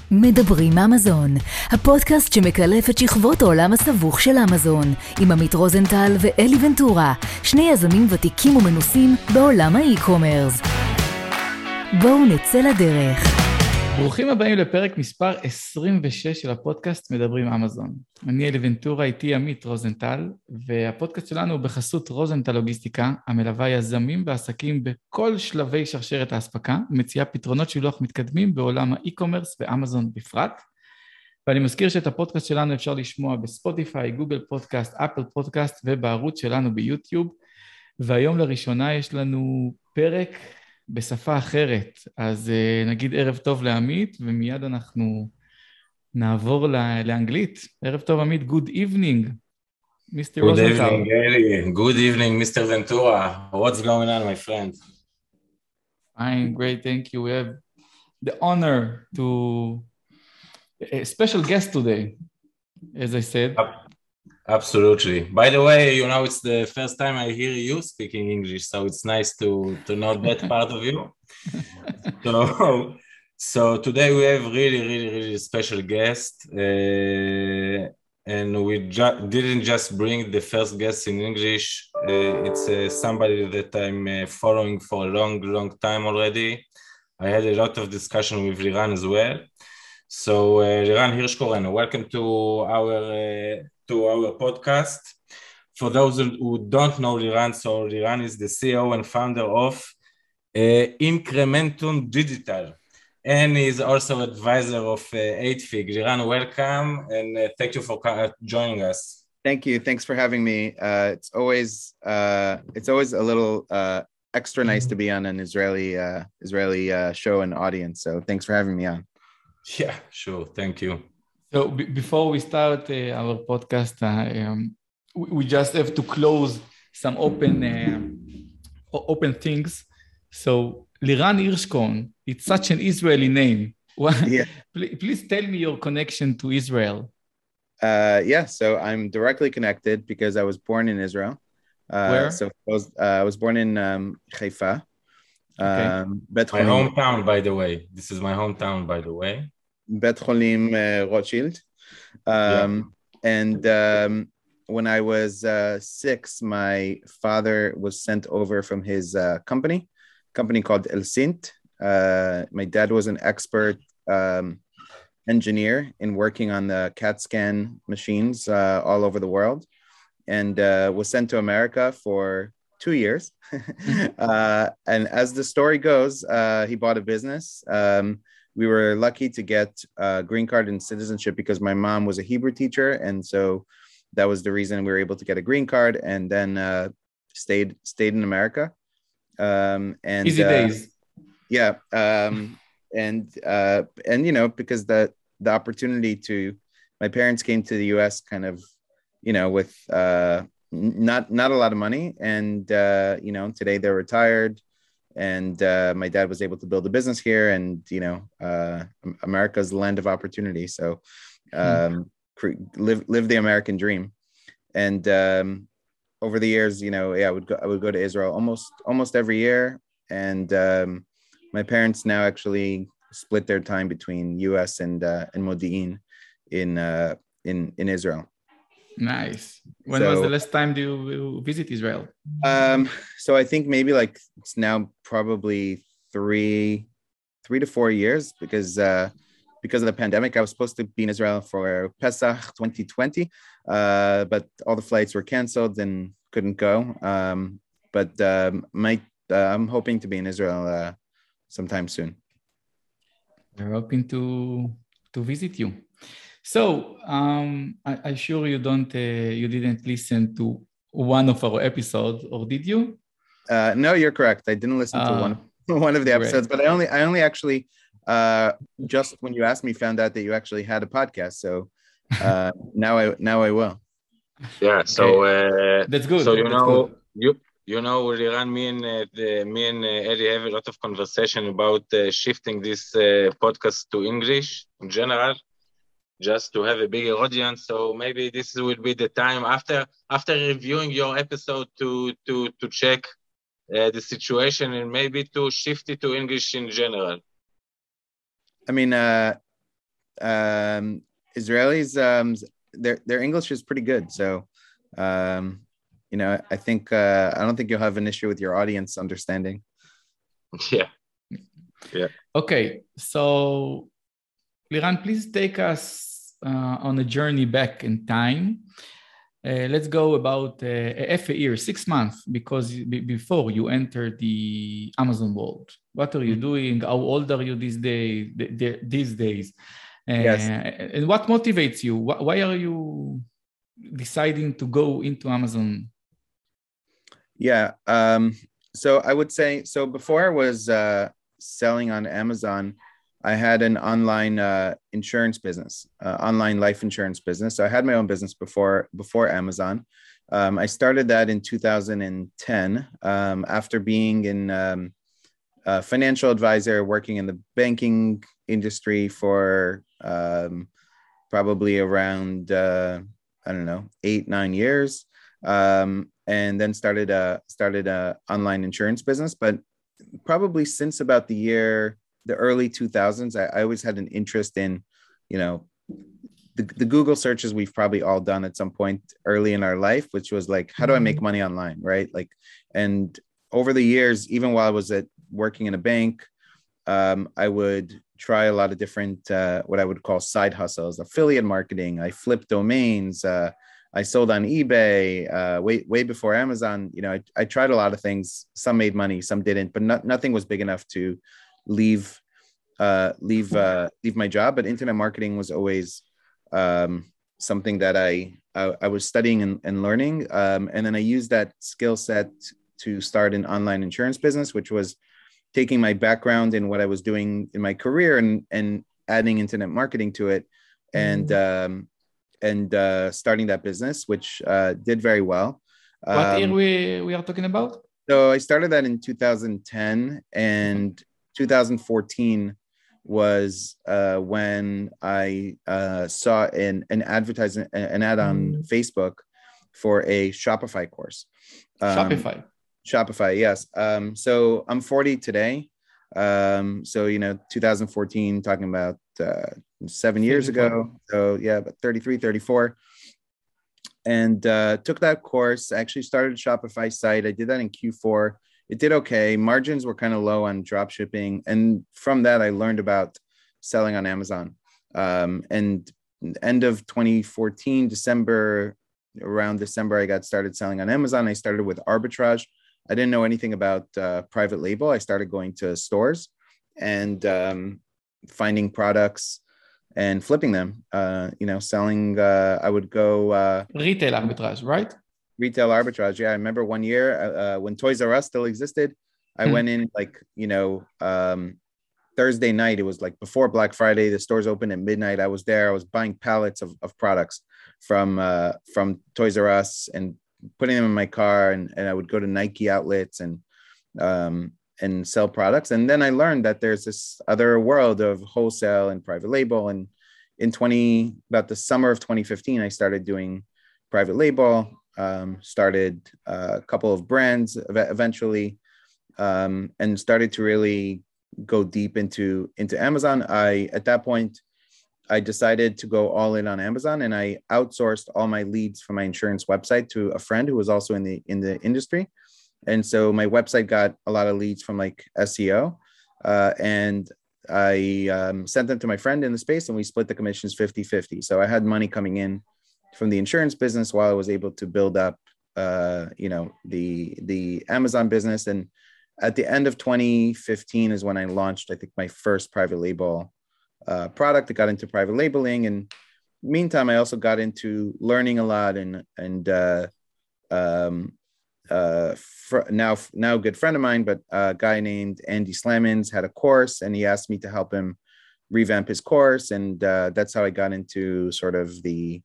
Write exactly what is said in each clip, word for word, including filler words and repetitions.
מדברים אמזון, הפודקאסט שמקלף את שכבות העולם הסבוך של אמזון, עם עמית רוזנטל ואלי ונטורה, שני יזמים ותיקים ומנוסים בעולם האי-קומרס. בואו נצא לדרך. ברוכים הבאים לפרק מספר עשרים ושש של הפודקאסט מדברים אמזון. אני אלי ונטורה, איתי עמית רוזנטל, והפודקאסט שלנו הוא בחסות רוזנטל לוגיסטיקה, המלווה יזמים ועסקים בכל שלבי שרשרת האספקה, ומציעה פתרונות שילוח מתקדמים בעולם האי-קומרס ואמזון בפרט. ואני מזכיר שאת הפודקאסט שלנו אפשר לשמוע בספוטיפיי, גוגל פודקאסט, אפל פודקאסט ובערוץ שלנו ביוטיוב. והיום לראשונה יש לנו פרק בשפה אחרת, אז uh, נגיד ערב טוב לעמית, ומיד אנחנו נעבור לאנגלית. ערב טוב עמית, good evening, מיסטר Good רוזנטל. evening, Eli. Good evening, Mister Ventura. What's going on, my friend? Fine, great, thank you. We have the honor to a special guest today, as I said. Absolutely. By the way, you know, it's the first time I hear you speaking English, so it's nice to, to know that part of you. So, so today we have really, really, really special guest, uh, and we ju- didn't just bring the first guest in English. Uh, it's uh, somebody that I'm uh, following for a long, long time already. I had a lot of discussion with Liran as well. So, uh, Liran Hirschkoren, welcome to our uh, to our podcast. For those who don't know Liran, so Liran is the C E O and founder of uh, Incrementum Digital, and is also advisor of uh, eight fig. Liran, welcome, and uh, thank you for uh, joining us. Thank you. Thanks for having me. Uh, it's always uh, it's always a little uh, extra nice to be on an Israeli uh, Israeli uh, show and audience. So thanks for having me on. Yeah, sure. Thank you. So b- before we start uh, our podcast, uh, um, we, we just have to close some open uh, open things. So Liran Hirschkorn, it's such an Israeli name. Yeah. please, please tell me your connection to Israel. Uh, yeah. So I'm directly connected because I was born in Israel. Uh, Where? So I was, uh, I was born in um, Haifa. Okay. Um, Bet My Cholim, hometown, by the way. This is my hometown, by the way. Bet Cholim uh, Rothschild. Um, And um, when I was uh, six, my father was sent over from his uh, company, company called El Sint. Uh, my dad was an expert um, engineer in working on the CAT scan machines uh, all over the world, and uh, was sent to America for two years. uh, and as the story goes, uh, he bought a business. Um, we were lucky to get a green card and citizenship because my mom was a Hebrew teacher. And so that was the reason we were able to get a green card, and then uh, stayed stayed in America. Um, and Easy uh, days. yeah. Um, and, uh, and, you know, because the, the opportunity to, my parents came to the U S kind of, you know, with uh, not, not a lot of money. And, uh, you know, today they're retired, and uh, my dad was able to build a business here, and, you know, uh, America's the land of opportunity. So um, cre- live, live the American dream. And um, over the years, you know, yeah, I would go, I would go to Israel almost, almost every year. And um, my parents now actually split their time between U S and uh, and Modi'in in uh, in in Israel. Nice. When So- was the last time you you visit Israel? Um, so I think maybe like it's now probably three, three to four years because uh, because of the pandemic. I was supposed to be in Israel for Pesach twenty twenty, uh, but all the flights were canceled and couldn't go. Um, but um, might uh, I'm hoping to be in Israel uh, sometime soon. We're hoping to to visit you. So um, I, I'm sure you don't uh, you didn't listen to one of our episodes, or did you? Uh, no, you're correct. I didn't listen to Ah, one one of the great. episodes, but I only I only actually uh, just when you asked me found out that you actually had a podcast. So uh, now I now I will. Yeah, so uh, That's good. So you That's know, good. you you know, Liran, me and uh, the, me and uh, Eddie have a lot of conversation about uh, shifting this uh, podcast to English in general, just to have a bigger audience. So maybe this will be the time after after reviewing your episode to to to check uh, the situation and maybe to shift it to English in general. I mean, uh, um, Israelis, um, their their English is pretty good. So, um, you know, I think uh, I don't think you'll have an issue with your audience understanding. Yeah. Yeah. Okay, so Liran, please take us uh, on a journey back in time. Uh, let's go about uh, half a year, six months, because b- before you enter the Amazon world. What are you doing? How old are you these days? These days, uh, Yes. and what motivates you? Why are you deciding to go into Amazon? Yeah. Um, so I would say so. Before I was uh, selling on Amazon, I had an online uh, insurance business, uh, online life insurance business. So I had my own business before before Amazon. Um, I started that in two thousand ten um, after being in um, a financial advisor, working in the banking industry for um, probably around uh, I don't know eight nine years, um, and then started a started a online insurance business. But probably since about the year. the early two thousands, I, I always had an interest in, you know, the, the Google searches we've probably all done at some point early in our life, which was like, how do I make money online, right? Like, and over the years, even while I was at working in a bank, um, I would try a lot of different, uh, what I would call side hustles, affiliate marketing. I flipped domains. Uh, I sold on eBay uh, way way before Amazon. You know, I, I tried a lot of things. Some made money, some didn't, but not, nothing was big enough to leave uh leave uh leave my job. But internet marketing was always um something that I I, I was studying and, and learning, um and then I used that skill set to start an online insurance business, which was taking my background in what I was doing in my career and and adding internet marketing to it, and um and uh starting that business, which uh did very well. What um, year we we are talking about? So I started that in two thousand ten, and two thousand fourteen was uh, when I uh, saw an an advertisement, an ad on Facebook for a Shopify course. Um, Shopify. Shopify, yes. Um, so I'm forty today. Um, so you know, two thousand fourteen, talking about uh, seven years ago. So yeah, about thirty-three, thirty-four. And uh, took that course. I actually started a Shopify site. I did that in Q four. It did okay. Margins were kind of low on drop shipping. And from that, I learned about selling on Amazon. Um, and end of twenty fourteen, December, around December, I got started selling on Amazon. I started with arbitrage. I didn't know anything about uh, private label. I started going to stores and um, finding products and flipping them, uh, you know, selling, uh, I would go... Uh, Retail arbitrage, right? Retail arbitrage, yeah. I remember one year uh, when Toys R Us still existed, I hmm. went in like, you know, um, Thursday night. It was like before Black Friday, the stores opened at midnight. I was there. I was buying pallets of, of products from uh, from Toys R Us and putting them in my car. And, and I would go to Nike outlets and um, and sell products. And then I learned that there's this other world of wholesale and private label. And in twenty, about the summer of twenty fifteen, I started doing private label, um, started uh, a couple of brands eventually, um, and started to really go deep into, into Amazon. I, at that point, I decided to go all in on Amazon, and I outsourced all my leads from my insurance website to a friend who was also in the, in the industry. And so my website got a lot of leads from like S E O, uh, and I um, sent them to my friend in the space, and we split the commissions fifty fifty. So I had money coming in from the insurance business while I was able to build up, uh, you know, the, the Amazon business. And at the end of twenty fifteen is when I launched, I think, my first private label uh, product. I got into private labeling. And meantime, I also got into learning a lot, and, and uh, um, uh fr- now now a good friend of mine, but a guy named Andy Slamans had a course, and he asked me to help him revamp his course, and uh, that's how I got into sort of the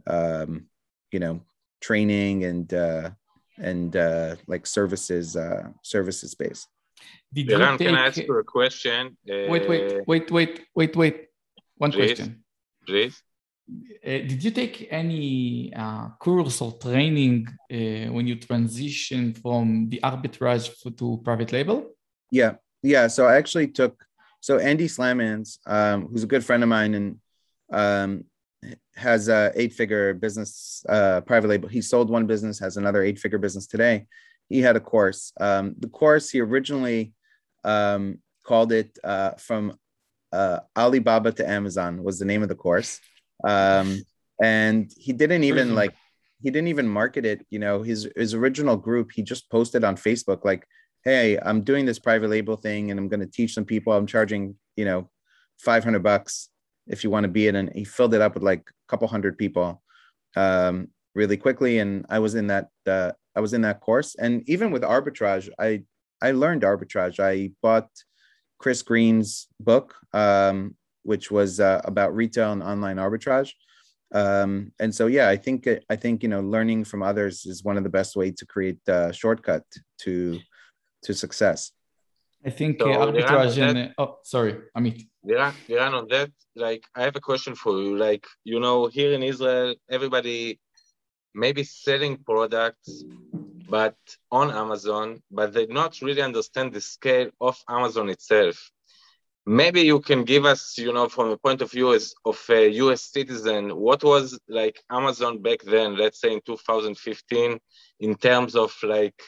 um you know training and uh and uh like services uh services space. Did Liran, take... can I ask you a question? Uh, wait wait wait wait wait wait one please, question please. Uh, did you take any uh, course or training uh, when you transition from the arbitrage to private label? Yeah, yeah. So I actually took, so Andy Slamans, um, who's a good friend of mine, and um, has a eight-figure business, uh, private label. He sold one business, has another eight-figure business today. He had a course. Um, the course he originally um, called it uh, from uh, Alibaba to Amazon was the name of the course, um, and he didn't even like he didn't even market it. You know, his his original group, he just posted on Facebook like, "Hey, I'm doing this private label thing, and I'm going to teach some people. I'm charging, you know, five hundred bucks if you want to be in." And he filled it up with like a couple hundred people um, really quickly. And I was in that uh, I was in that course. And even with arbitrage, I I learned arbitrage. I bought Chris Green's book, um, which was uh, about retail and online arbitrage. Um, and so, yeah, I think I think you know, learning from others is one of the best ways to create a shortcut to to success. I think So, uh, arbitrage Liran, and that, uh, oh, sorry, Amit. Liran, Liran, on that, like, I have a question for you. Like, you know, here in Israel, everybody maybe selling products, but on Amazon, but they not really understand the scale of Amazon itself. Maybe you can give us, you know, from a point of view as of a U S citizen, what was like Amazon back then, let's say in two thousand fifteen, in terms of like,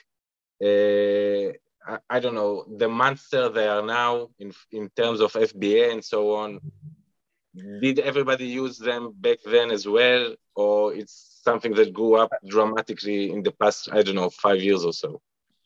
uh, I, I don't know, the monster they are now in in terms of F B A and so on. Did everybody use them back then as well, or it's something that grew up dramatically in the past, I don't know, five years or so?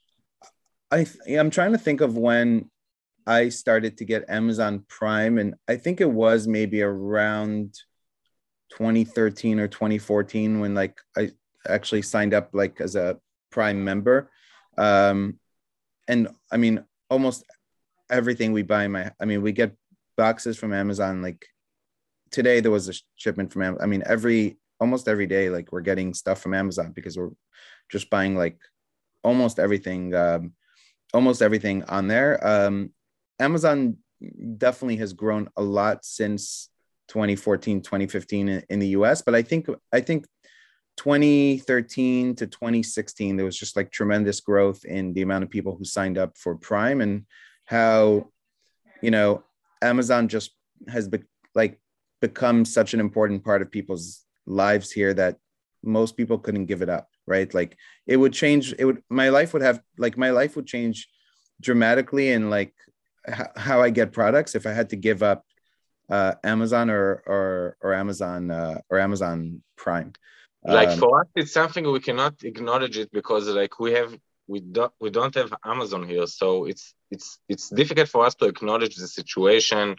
I I'm trying to think of when I started to get Amazon Prime, and I think it was maybe around twenty thirteen or twenty fourteen when like I actually signed up like as a Prime member. Um, and I mean, almost everything we buy, my, I mean, we get boxes from Amazon. Like today there was a shipment from Amazon. I mean, every, almost every day, like we're getting stuff from Amazon because we're just buying like almost everything, um, almost everything on there. Um, Amazon definitely has grown a lot since twenty fourteen, twenty fifteen in, in the U S, but I think, I think twenty thirteen to twenty sixteen, there was just like tremendous growth in the amount of people who signed up for Prime, and how, you know, Amazon just has be- like become such an important part of people's lives here that most people couldn't give it up, right? Like it would change, it would, my life would have, like my life would change dramatically in like h- how I get products if I had to give up uh, Amazon or, or, or Amazon uh, or Amazon Prime. Like Um, for us, it's something we cannot acknowledge it because like we have, we don't, we don't have Amazon here. So it's, it's, it's difficult for us to acknowledge the situation.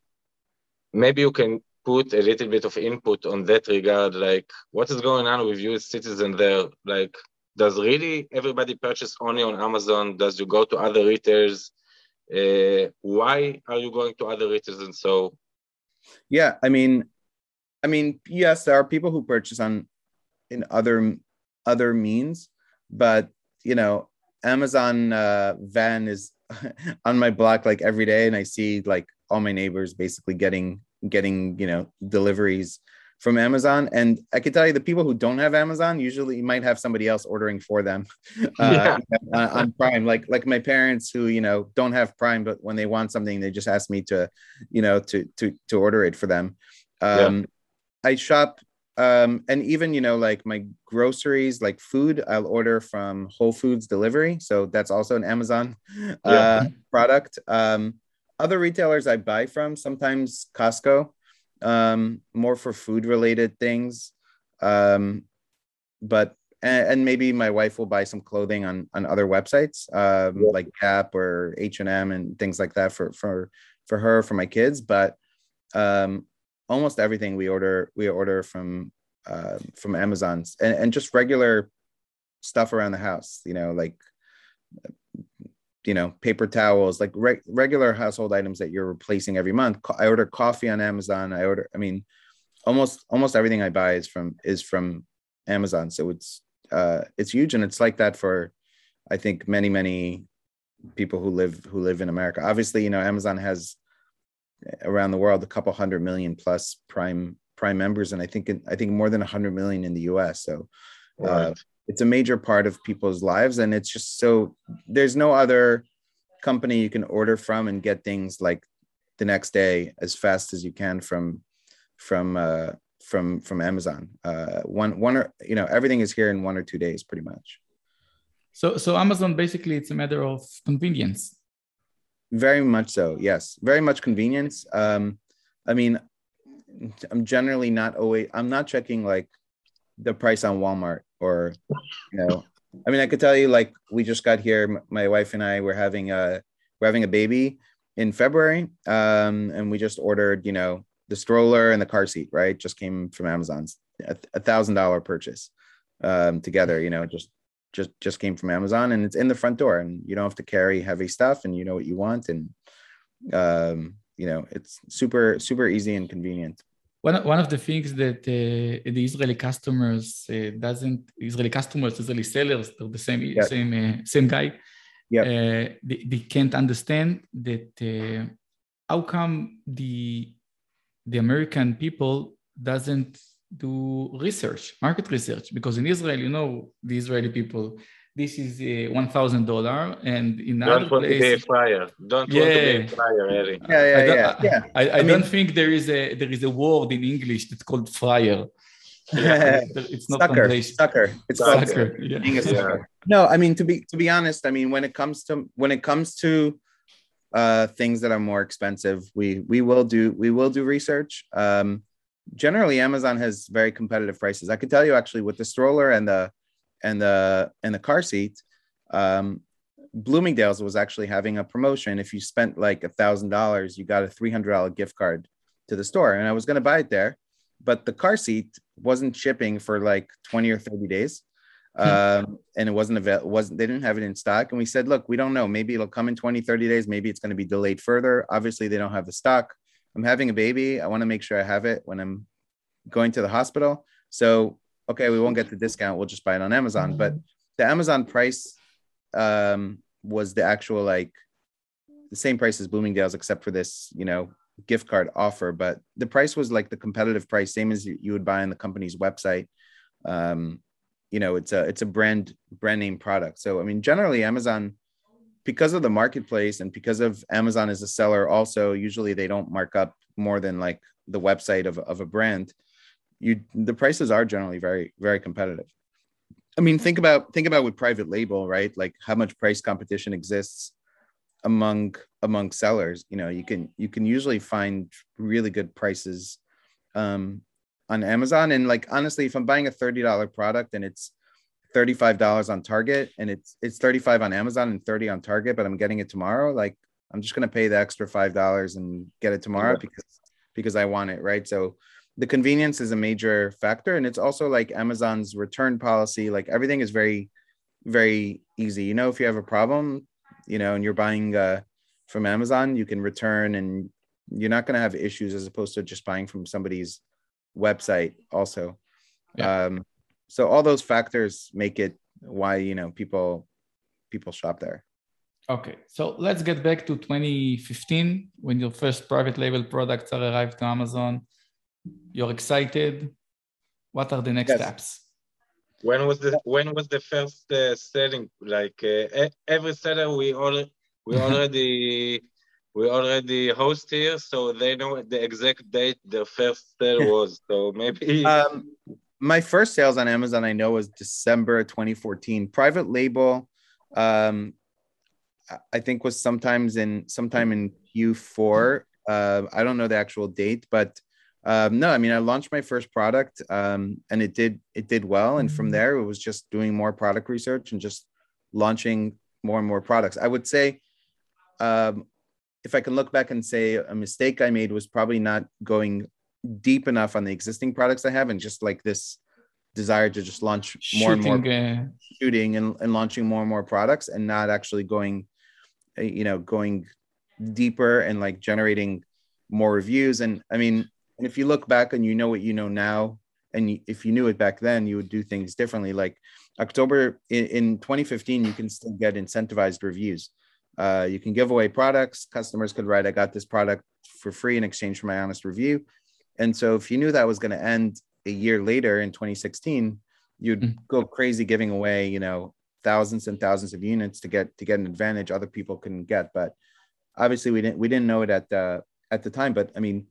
Maybe you can put a little bit of input on that regard, like what is going on with U S citizens there? Like, does really everybody purchase only on Amazon? Does you go to other retailers? Uh, why are you going to other retailers? And so, yeah, I mean, I mean, yes, there are people who purchase on in other other means, but you know, Amazon uh, van is on my block like every day, and I see like all my neighbors basically getting getting you know deliveries from Amazon. And I can tell you, the people who don't have Amazon usually might have somebody else ordering for them uh, yeah. on Prime. Like like my parents who you know don't have Prime, but when they want something, they just ask me to you know to to to order it for them. Um, yeah. I shop. Um, and even, you know, like my groceries, like food, I'll order from Whole Foods Delivery. So that's also an Amazon uh, Yeah. product. Um, other retailers I buy from, sometimes Costco, um, more for food related things. Um, but, and, and maybe my wife will buy some clothing on, on other websites, um, Yeah. like Gap or H and M and things like that for, for, for her, for my kids. But, um, almost everything we order we order from uh, from Amazon, and, and just regular stuff around the house, you know, like you know paper towels, like re- regular household items that you're replacing every month. I order coffee on Amazon. I order I mean almost almost everything I buy is from is from Amazon. So it's uh it's huge, and it's like that for I think many many people who live who live in America. Obviously, you know, Amazon has around the world a couple hundred million plus prime prime members, and I think I think more than one hundred million in the U S. So uh, Right. it's a major part of people's lives, and it's just so there's no other company you can order from and get things like the next day as fast as you can from from uh, from from Amazon. Uh, one one or you know everything is here in one or two days, pretty much. So so Amazon basically it's a matter of convenience. Very much so. Yes, very much convenience. Um, I mean, I'm generally not always. I'm not checking like the price on Walmart or you know. I mean, I could tell you like we just got here. My wife and I were having a we're having a baby in February, um, and we just ordered you know the stroller and the car seat. Right, just came from Amazon's a, a thousand dollar purchase um, together. You know, just just just came from Amazon, and it's in the front door, and you don't have to carry heavy stuff, and you know what you want, and um, you know it's super super easy and convenient. One, one of the things that uh, the Israeli customers uh, doesn't, Israeli customers, Israeli sellers, they're the same Yep. same uh, same guy. Yep. Uh, they, they can't understand that uh, how come the the American people doesn't do research, market research, because in Israel, you know, the Israeli people, this is uh, one thousand dollars, and in Don't other want to be a places, fryer. Don't Yeah. want to be a fryer, Eli. Yeah, yeah, I don't, yeah, yeah. I, I, I don't mean- think there is a there is a word in English that's called fryer. It's not sucker, translation. sucker. It's Sucker. called Sucker, yeah. being a Yeah. sucker. No, I mean to be to be honest, I mean when it comes to when it comes to uh things that are more expensive, we we will do we will do research. Um generally Amazon has very competitive prices. I could tell you actually with the stroller and the and the and the car seat, um Bloomingdale's was actually having a promotion. If you spent like a thousand dollars, you got a three hundred dollar gift card to the store, and I was going to buy it there, but the car seat wasn't shipping for like twenty or thirty days. Um, and it wasn't available, wasn't, they didn't have it in stock. And we said, look, we don't know, maybe it'll come in twenty, thirty days. Maybe it's going to be delayed further. Obviously they don't have the stock. I'm having a baby. I want to make sure I have it when I'm going to the hospital. So, okay, we won't get the discount. We'll just buy it on Amazon. But the Amazon price, um, was the actual, like the same price as Bloomingdale's, except for this, you know, gift card offer. But the price was like the competitive price, same as you would buy on the company's website. Um, you know, it's a it's a brand brand name product. So I mean, generally Amazon, because of the marketplace and because of Amazon as a seller, also usually they don't mark up more than like the website of, of a brand. You the prices are generally very, very competitive. I mean, think about think about with private label, right? Like how much price competition exists among among sellers. You know, you can you can usually find really good prices um, on Amazon. And like honestly, if I'm buying a thirty dollar product and it's thirty-five dollars on Target and it's it's thirty-five on Amazon and thirty on Target, but I'm getting it tomorrow, like I'm just gonna pay the extra five dollars and get it tomorrow yeah. because because I want it, right? So the convenience is a major factor, and it's also like Amazon's return policy. Like everything is very, very easy. You know, if you have a problem, you know, and you're buying uh, from Amazon, you can return, and you're not going to have issues as opposed to just buying from somebody's website. Also, yeah. um, so all those factors make it why you know people people shop there. Okay, so let's get back to twenty fifteen when your first private label products are arrived to Amazon. You're excited. What are the next yes. steps? When was the when was the first uh, selling? Like uh, every seller, we all we already we already host here, so they know the exact date their first sale was. So maybe um, my first sales on Amazon, I know, was December twenty fourteen. Private label, um, I think, was sometimes in sometime in Q four. Uh, I don't know the actual date, but. Um, no, I mean, I launched my first product um, and it did it did well. And from there, it was just doing more product research and just launching more and more products. I would say, um, if I can look back and say a mistake I made was probably not going deep enough on the existing products I have and just like this desire to just launch more shooting, and more uh... shooting and, and launching more and more products and not actually going, you know, going deeper and like generating more reviews. And I mean, And if you look back and you know what you know now, and if you knew it back then, you would do things differently. Like October in, in twenty fifteen, you can still get incentivized reviews. Uh, you can give away products. Customers could write, I got this product for free in exchange for my honest review. And so if you knew that was going to end a year later in twenty sixteen, you'd mm. go crazy giving away, you know, thousands and thousands of units to get to get an advantage other people couldn't get. But obviously we didn't we didn't know it at the at the time. But I mean,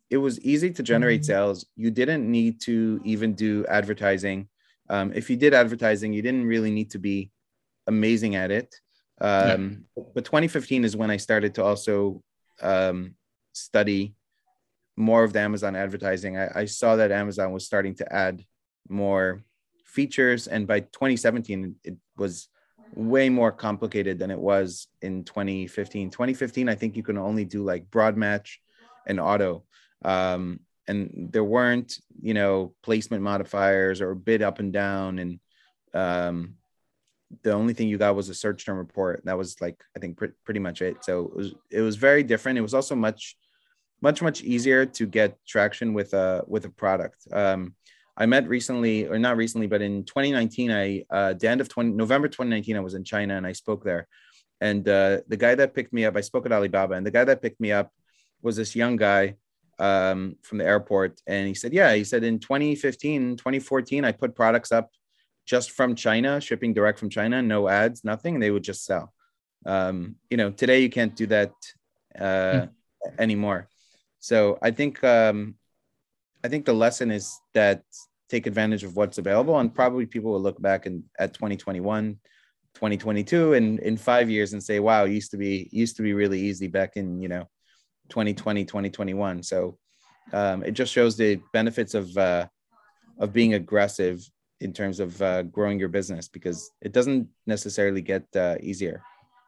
it was easy to generate sales. You didn't need to even do advertising. Um, if you did advertising, you didn't really need to be amazing at it. Um, yeah. But twenty fifteen is when I started to also um, study more of the Amazon advertising. I, I saw that Amazon was starting to add more features. And by twenty seventeen, it was way more complicated than it was in twenty fifteen. twenty fifteen, I think you can only do like broad match and auto. Um, and there weren't, you know, placement modifiers or bid up and down. And um, the only thing you got was a search term report. That was like, I think pr- pretty much it. So it was, it was very different. It was also much, much, much easier to get traction with a, with a product. Um, I met recently, or not recently, but in twenty nineteen, I, uh, the end of twenty, November twenty nineteen, I was in China and I spoke there. And uh, the guy that picked me up, I spoke at Alibaba, and the guy that picked me up was this young guy um, from the airport. And he said, yeah, he said in twenty fifteen, twenty fourteen, I put products up just from China, shipping direct from China, no ads, nothing. And they would just sell. Um, you know, today you can't do that uh, mm. anymore. So I think, um, I think the lesson is that take advantage of what's available, and probably people will look back in, at twenty twenty-one, twenty twenty-two, and in five years and say, wow, it used to be, used to be really easy back in, you know, twenty twenty, twenty twenty-one. So um, it just shows the benefits of, uh, of being aggressive in terms of uh, growing your business, because it doesn't necessarily get uh, easier.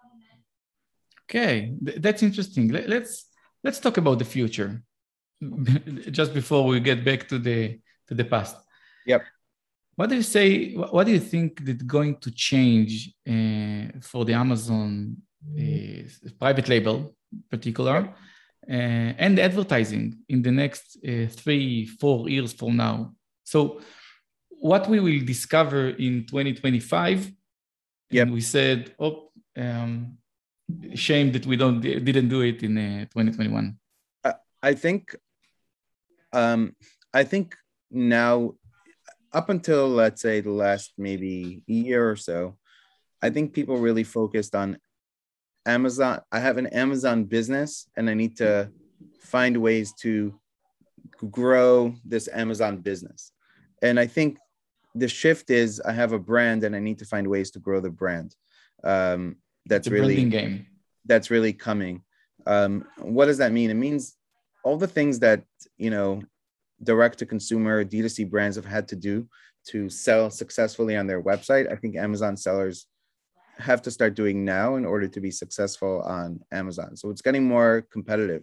Okay, that's interesting. Let's, let's talk about the future just before we get back to the, to the past. Yep. What do you say, what do you think that's going to change uh, for the Amazon uh, private label in particular, yep. uh, and the advertising in the next uh, three, four years from now? So what we will discover in twenty twenty-five, yep. and we said, oh, um, shame that we don't didn't do it in uh, twenty twenty-one. I, I think, um, I think now, up until, let's say, the last maybe year or so, I think people really focused on Amazon. I have an Amazon business and I need to find ways to grow this Amazon business. And I think the shift is I have a brand and I need to find ways to grow the brand. Um, that's the really branding game. That's really coming. Um, what does that mean? It means all the things that, you know, direct to consumer D two C brands have had to do to sell successfully on their website. I think Amazon sellers have to start doing now in order to be successful on Amazon. So it's getting more competitive.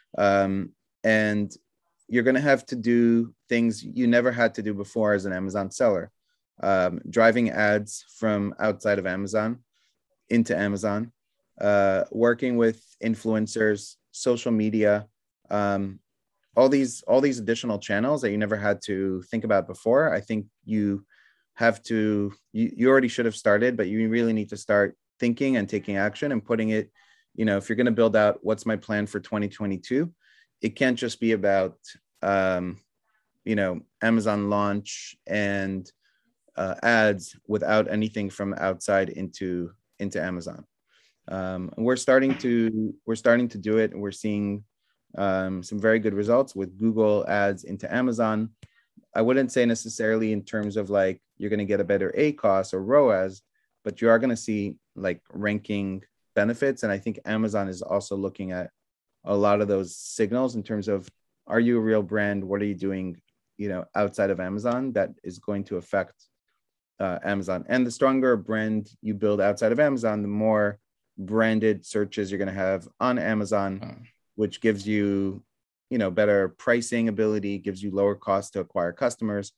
Um, and you're going to have to do things you never had to do before as an Amazon seller. Um, driving ads from outside of Amazon into Amazon, uh, working with influencers, social media, um, all these all these additional channels that you never had to think about before. I think you have to, you, you already should have started, but you really need to start thinking and taking action and putting it, you know, if you're going to build out what's my plan for twenty twenty-two, it can't just be about, um, you know, Amazon launch and uh, ads without anything from outside into, into Amazon. Um, we're starting to, we're starting to do it, and we're seeing um, some very good results with Google ads into Amazon. I wouldn't say necessarily in terms of like, you're going to get a better A C O S or R O A S, but you are going to see like ranking benefits. And I think Amazon is also looking at a lot of those signals in terms of, are you a real brand? What are you doing, you know, outside of Amazon that is going to affect uh, Amazon? And the stronger a brand you build outside of Amazon, the more branded searches you're going to have on Amazon, oh. which gives you, you know, better pricing ability, gives you lower cost to acquire customers.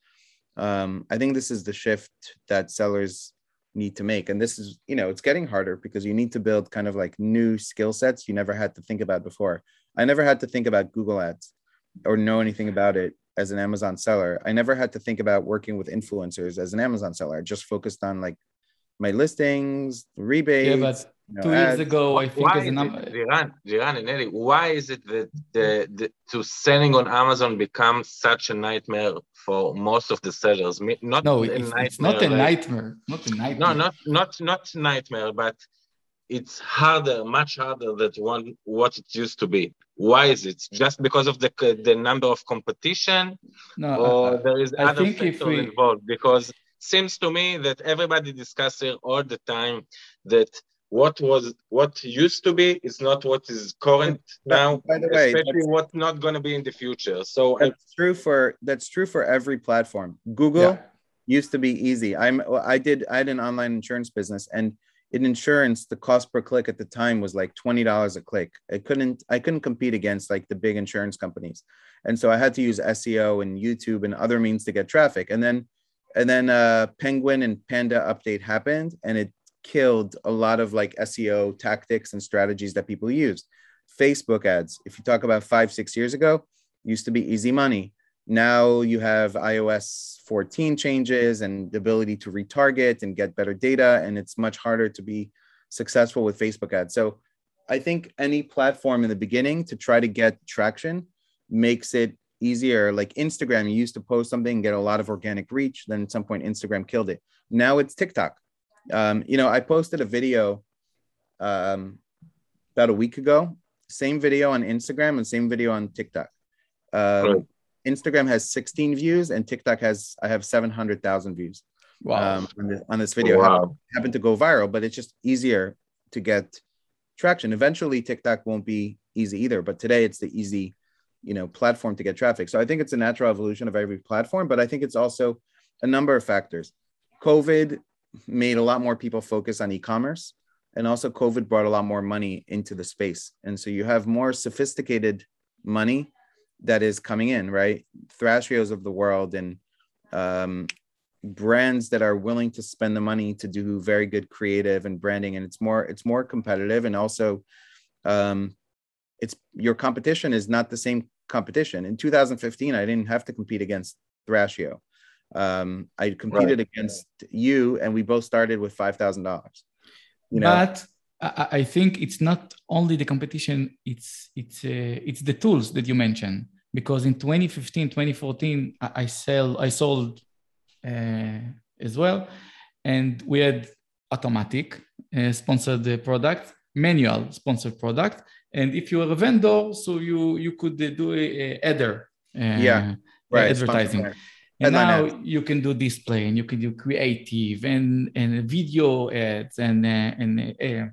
Um, I think this is the shift that sellers need to make. And this is, you know, it's getting harder because you need to build kind of like new skill sets you never had to think about before. I never had to think about Google ads or know anything about it as an Amazon seller. I never had to think about working with influencers as an Amazon seller. I just focused on like my listings, rebates. Yeah, but you know, two ads. years ago, I think why as a number. Jiran, Jiran and Eli, why is it that the, the to selling on Amazon becomes such a nightmare for most of the sellers? Not no, a it's, nightmare, it's not a like, nightmare. Not a nightmare. No, not not not nightmare, but it's harder, much harder than one, what it used to be. Why is it? Just because of the the number of competition, No, or uh, there is I other think if factors we, involved? Because seems to me that everybody discusses here all the time that what was what used to be is not what is current But now, by the way, especially that's, what's not going to be in the future. So I, that's true for that's true for every platform. Google yeah, used to be easy. I'm well, I did I had an online insurance business, and in insurance, the cost per click at the time was like twenty dollars a click. I couldn't I couldn't compete against like the big insurance companies. And so I had to use S E O and YouTube and other means to get traffic. And then and then uh Penguin and Panda update happened, and it killed a lot of like S E O tactics and strategies that people use. Facebook ads, if you talk about five, six years ago, used to be easy money. Now you have i O S fourteen changes and the ability to retarget and get better data, and it's much harder to be successful with Facebook ads. So I think any platform in the beginning to try to get traction makes it easier. Like Instagram, you used to post something and get a lot of organic reach. Then at some point, Instagram killed it. Now it's TikTok. Um, you know, I posted a video um, about a week ago, same video on Instagram and same video on TikTok. Um, right. Instagram has sixteen views and TikTok has, I have seven hundred thousand views wow. um, on, this, on this video. Wow. Happened, happened to go viral, but it's just easier to get traction. Eventually TikTok won't be easy either, but today it's the easy, you know, platform to get traffic. So I think it's a natural evolution of every platform, but I think it's also a number of factors. COVID made a lot more people focus on e-commerce, and also COVID brought a lot more money into the space. And so you have more sophisticated money that is coming in, right? Thrashios of the world and um, brands that are willing to spend the money to do very good creative and branding. And it's more, it's more competitive. And also um, it's your competition is not the same competition. In two thousand fifteen, I didn't have to compete against Thrashio. Um, I competed right. against you, and we both started with five thousand dollars. You know? But I, I think it's not only the competition, it's it's uh, it's the tools that you mentioned. Because in twenty fifteen, twenty fourteen, I, I sell I sold uh, as well, and we had automatic uh, sponsored the product, manual sponsored product, and if you were a vendor, so you you could uh, do a, a header, uh, yeah, right, advertising. And now ads. You can do display, and you can do creative and, and video ads and uh, and uh,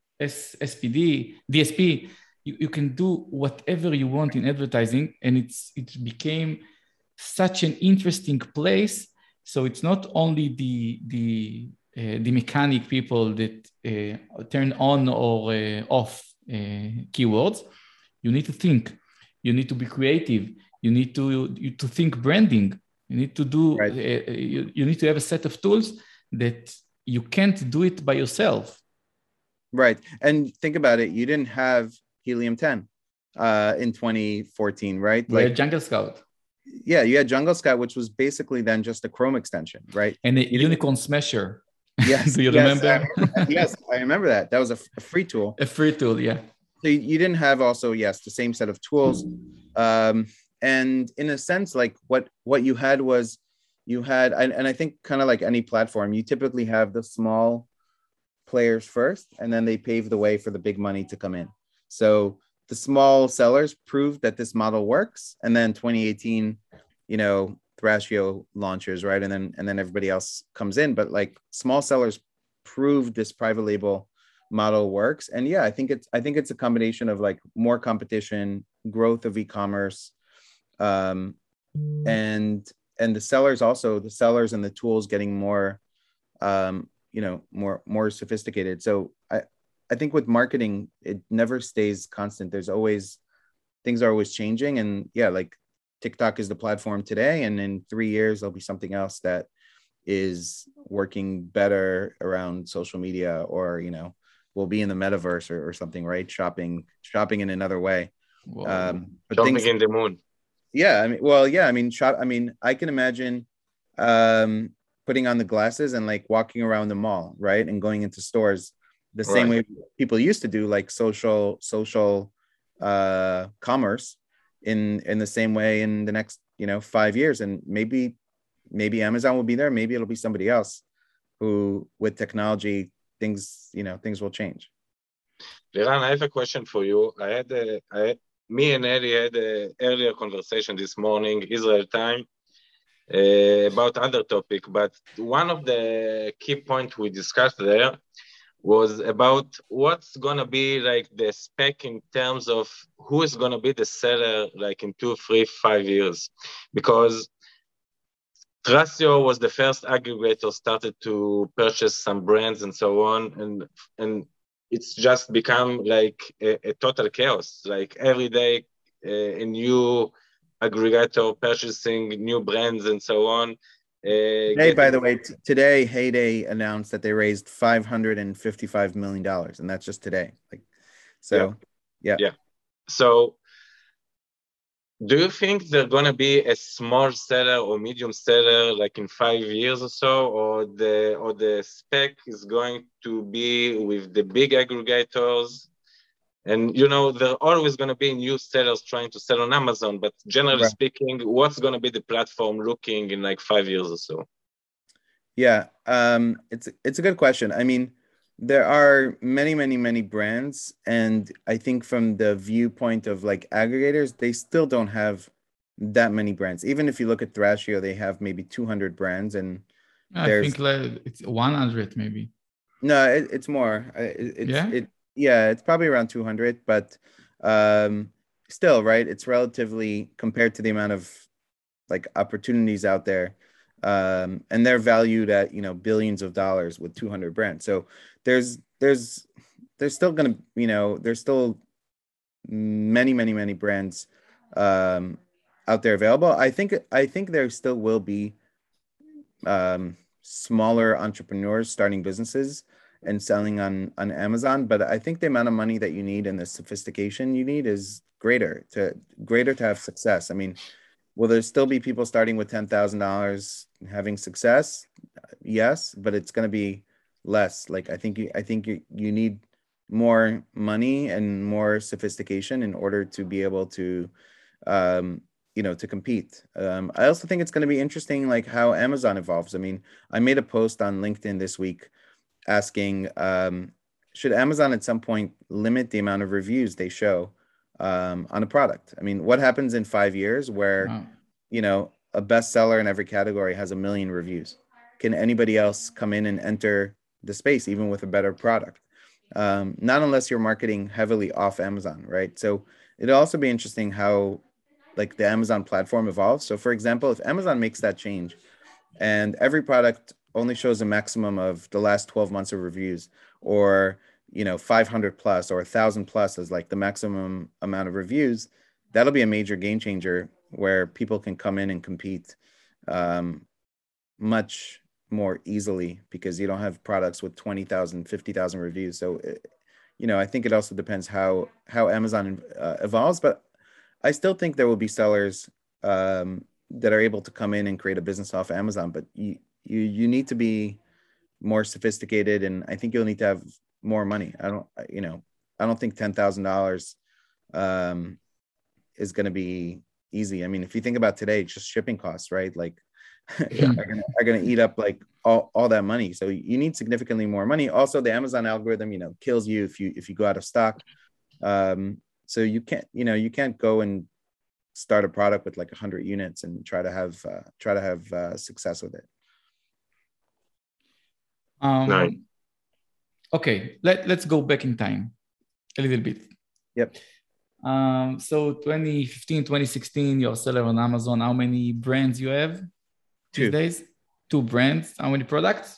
S P D, D S P. You, you can do whatever you want in advertising, and it's it became such an interesting place. So it's not only the the uh, the mechanic people that uh, turn on or uh, off uh, keywords. You need to think. You need to be creative. You need to you, to think branding. You need to do, right. uh, you, you need to have a set of tools that you can't do it by yourself. Right. And think about it. You didn't have Helium ten uh, in twenty fourteen, right? We like had Jungle Scout. Yeah, you had Jungle Scout, which was basically then just a Chrome extension, right? And a Unicorn Smasher. Yes. Do you yes, remember? I remember yes, I remember that. That was a, a free tool. A free tool, yeah. So you, you didn't have also, yes, the same set of tools. Um, And in a sense, like what, what you had was you had, and, and I think kind of like any platform, you typically have the small players first, and then they pave the way for the big money to come in. So the small sellers proved that this model works. And then twenty eighteen, you know, Thrashio launches, right? And then, and then everybody else comes in, but like small sellers proved this private label model works. And yeah, I think it's, I think it's a combination of like more competition, growth of e-commerce, um and and the sellers also the sellers and the tools getting more um you know more more sophisticated. So i i think with marketing, it never stays constant. There's always, things are always changing. And yeah, like TikTok is the platform today, and in three years there'll be something else that is working better around social media, or you know, we'll be in the metaverse or, or something, right? shopping shopping in another way. um but Jumping things, in the moon. Yeah, I mean, well, yeah, I mean, shop. I mean, I can imagine um, putting on the glasses and like walking around the mall, right, and going into stores the right. same way people used to do, like social social uh, commerce, in in the same way in the next, you know, five years, and maybe maybe Amazon will be there, maybe it'll be somebody else who, with technology, things, you know, things will change. Liran, I have a question for you. I had, a, I had me and Eddie had an earlier conversation this morning, Israel time, uh, about other topic, but one of the key points we discussed there was about what's going to be like the spec in terms of who is going to be the seller like in two, three, five years. Because Thrasio was the first aggregator started to purchase some brands and so on. And, and it's just become like a, a total chaos. Like every day, uh, a new aggregator purchasing new brands and so on. Uh, today, getting... by the way, t- today Heyday announced that they raised five hundred fifty-five million dollars, and that's just today. Like, so, yeah. Yeah. yeah. So, do you think they're going to be a small seller or medium seller like in five years or so, or the or the spec is going to be with the big aggregators? And, you know, there are always going to be new sellers trying to sell on Amazon, but generally right. speaking, what's going to be the platform looking in like five years or so? Yeah, um, it's, it's a good question. I mean, there are many, many, many brands. And I think from the viewpoint of like aggregators, they still don't have that many brands. Even if you look at Thrasio, they have maybe two hundred brands. And I think like it's one hundred maybe. No, it, it's more. It, it's, yeah? It, yeah, it's probably around two hundred, but um, still, right? It's relatively compared to the amount of like opportunities out there. Um, and they're valued at, you know, billions of dollars with two hundred brands. So there's, there's, there's still going to, you know, there's still many, many, many brands um, out there available. I think, I think there still will be um, smaller entrepreneurs starting businesses and selling on, on Amazon. But I think the amount of money that you need and the sophistication you need is greater to greater to have success. I mean, will there still be people starting with ten thousand dollars having success? Yes, but it's going to be less. Like, I think you, I think you, you need more money and more sophistication in order to be able to, um, you know, to compete. Um, I also think it's going to be interesting, like how Amazon evolves. I mean, I made a post on LinkedIn this week asking, um, should Amazon at some point limit the amount of reviews they show um, on a product? I mean, what happens in five years where, wow. you know, a bestseller in every category has a million reviews? Can anybody else come in and enter the space, even with a better product? Um, not unless you're marketing heavily off Amazon, right? So it'll also be interesting how like the Amazon platform evolves. So for example, if Amazon makes that change and every product only shows a maximum of the last twelve months of reviews, or, you know, five hundred plus or a thousand plus is like the maximum amount of reviews, that'll be a major game changer where people can come in and compete um, much more easily because you don't have products with twenty thousand, fifty thousand reviews. So, you know, I think it also depends how, how Amazon uh, evolves, but I still think there will be sellers um, that are able to come in and create a business off Amazon, but you, you, you need to be more sophisticated. And I think you'll need to have more money. I don't, you know, I don't think ten thousand dollars um, is going to be easy. I mean, if you think about today, just shipping costs, right? Like yeah. are gonna, are gonna eat up like all, all that money. So you need significantly more money. Also, the Amazon algorithm, you know, kills you if you, if you go out of stock. Um, so you can't, you know, you can't go and start a product with like a hundred units and try to have, uh, try to have uh, success with it. Um, no. Okay, let, let's go back in time a little bit. Yep. Um, so twenty fifteen, twenty sixteen, you're a seller on Amazon. How many brands you have these Two. days? Two brands. How many products?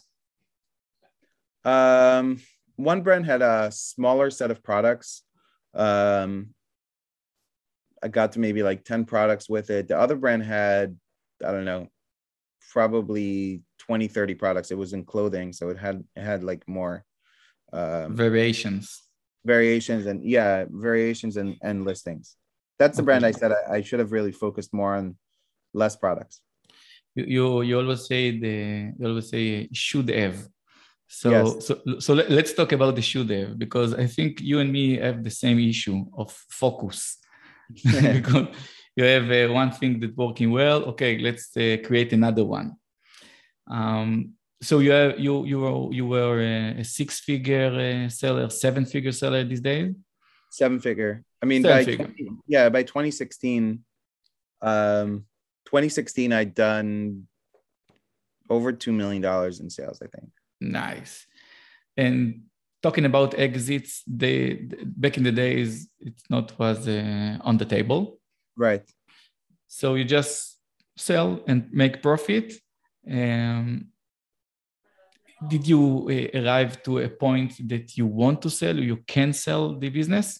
Um, one brand had a smaller set of products. Um, I got to maybe like ten products with it. The other brand had, I don't know, probably twenty, thirty products. It was in clothing. So it had, it had like more um, variations. Variations and yeah, variations and, and listings. That's the okay. brand I said I, I should have really focused more on less products. You you, you always say the you always say should have. So yes. so so let, let's talk about the should have, because I think you and me have the same issue of focus. Because you have uh, one thing that's working well. Okay, let's uh, create another one. Um, So you have, you you were you were a, a six-figure uh, seller, seven-figure seller these days? Seven figure. I mean, Seven by figure. twenty, yeah, by twenty sixteen, um, twenty sixteen, I'd done over two million dollars in sales, I think. Nice. And talking about exits, they back in the days, it's not was uh, on the table. Right. So you just sell and make profit. Um, did you uh, arrive to a point that you want to sell or you can sell the business?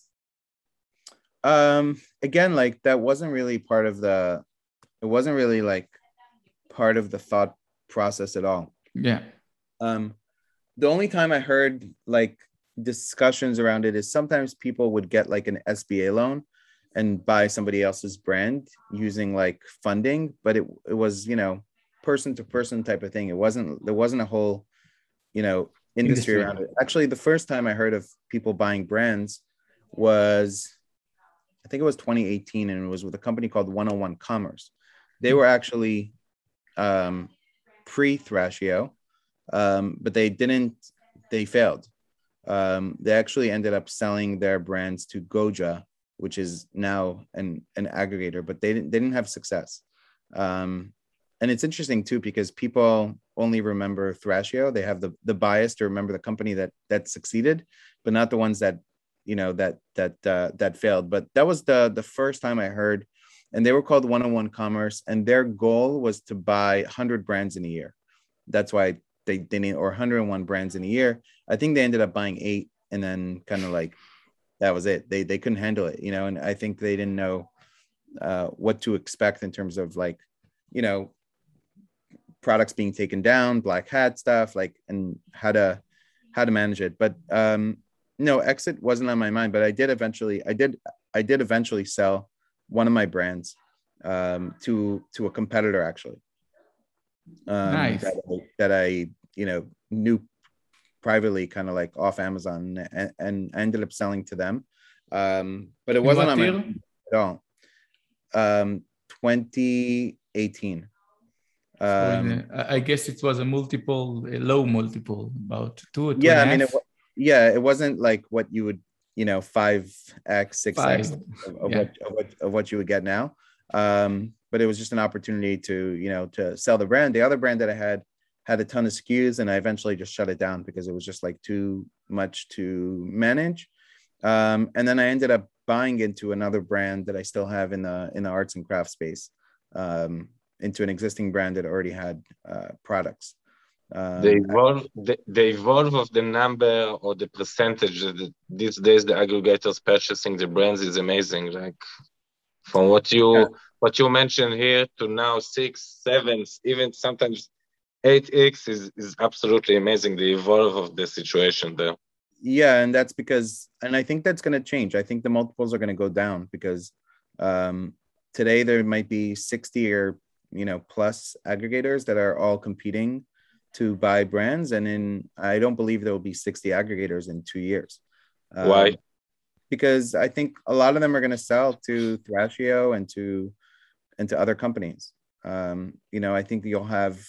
Um, again, like that wasn't really part of the, it wasn't really like part of the thought process at all. Yeah. Um, the only time I heard like discussions around it is sometimes people would get like an S B A loan and buy somebody else's brand using like funding, but it it was, you know, person to person type of thing. It wasn't, there wasn't a whole, you know, industry, industry around it. Actually, the first time I heard of people buying brands was, I think it was twenty eighteen, and it was with a company called one oh one Commerce. They were actually um, pre-Thrashio, um, but they didn't, they failed. Um, they actually ended up selling their brands to Goja, which is now an, an aggregator, but they didn't, they didn't have success. Um, and it's interesting too, because people only remember Thrashio. They have the, the bias to remember the company that, that succeeded, but not the ones that, you know, that, that, uh, that failed. But that was the, the first time I heard, and they were called one oh one Commerce, and their goal was to buy one hundred brands in a year. That's why they didn't, or one hundred one brands in a year. I think they ended up buying eight, and then kind of like, that was it. They, they couldn't handle it, you know, and I think they didn't know uh, what to expect in terms of like, you know, products being taken down, black hat stuff, like, and how to, how to manage it. But um, no, exit wasn't on my mind, but I did eventually, I did, I did eventually sell one of my brands um, to, to a competitor, actually. Um, nice. That I, that I, you know, knew privately, kind of like off Amazon, and, and I ended up selling to them. Um, but it wasn't on my mind at all. Um, twenty eighteen. Um, so in a, I guess it was a multiple, a low multiple, about two or two yeah, and I mean, half. it, yeah, it wasn't like what you would, you know, five X, six X of, of, yeah. what, of what of what you would get now. Um, but it was just an opportunity to, you know, to sell the brand. The other brand that I had had a ton of S K Us, and I eventually just shut it down because it was just like too much to manage. Um, and then I ended up buying into another brand that I still have in the in the arts and crafts space, um, into an existing brand that already had uh, products. Um, the evolve, the, the evolve of the number or the percentage that these days the aggregators purchasing the brands is amazing. Like from what you yeah. what you mentioned here to now six, seven, even sometimes eight X is is absolutely amazing. The evolve of the situation there. Yeah, and that's because, and I think that's going to change. I think the multiples are going to go down because um, today there might be sixty or you know plus aggregators that are all competing to buy brands, and in I don't believe there will be sixty aggregators in two years. Um, Why? Because I think a lot of them are going to sell to Thrashio and to and to other companies. Um, you know, I think you'll have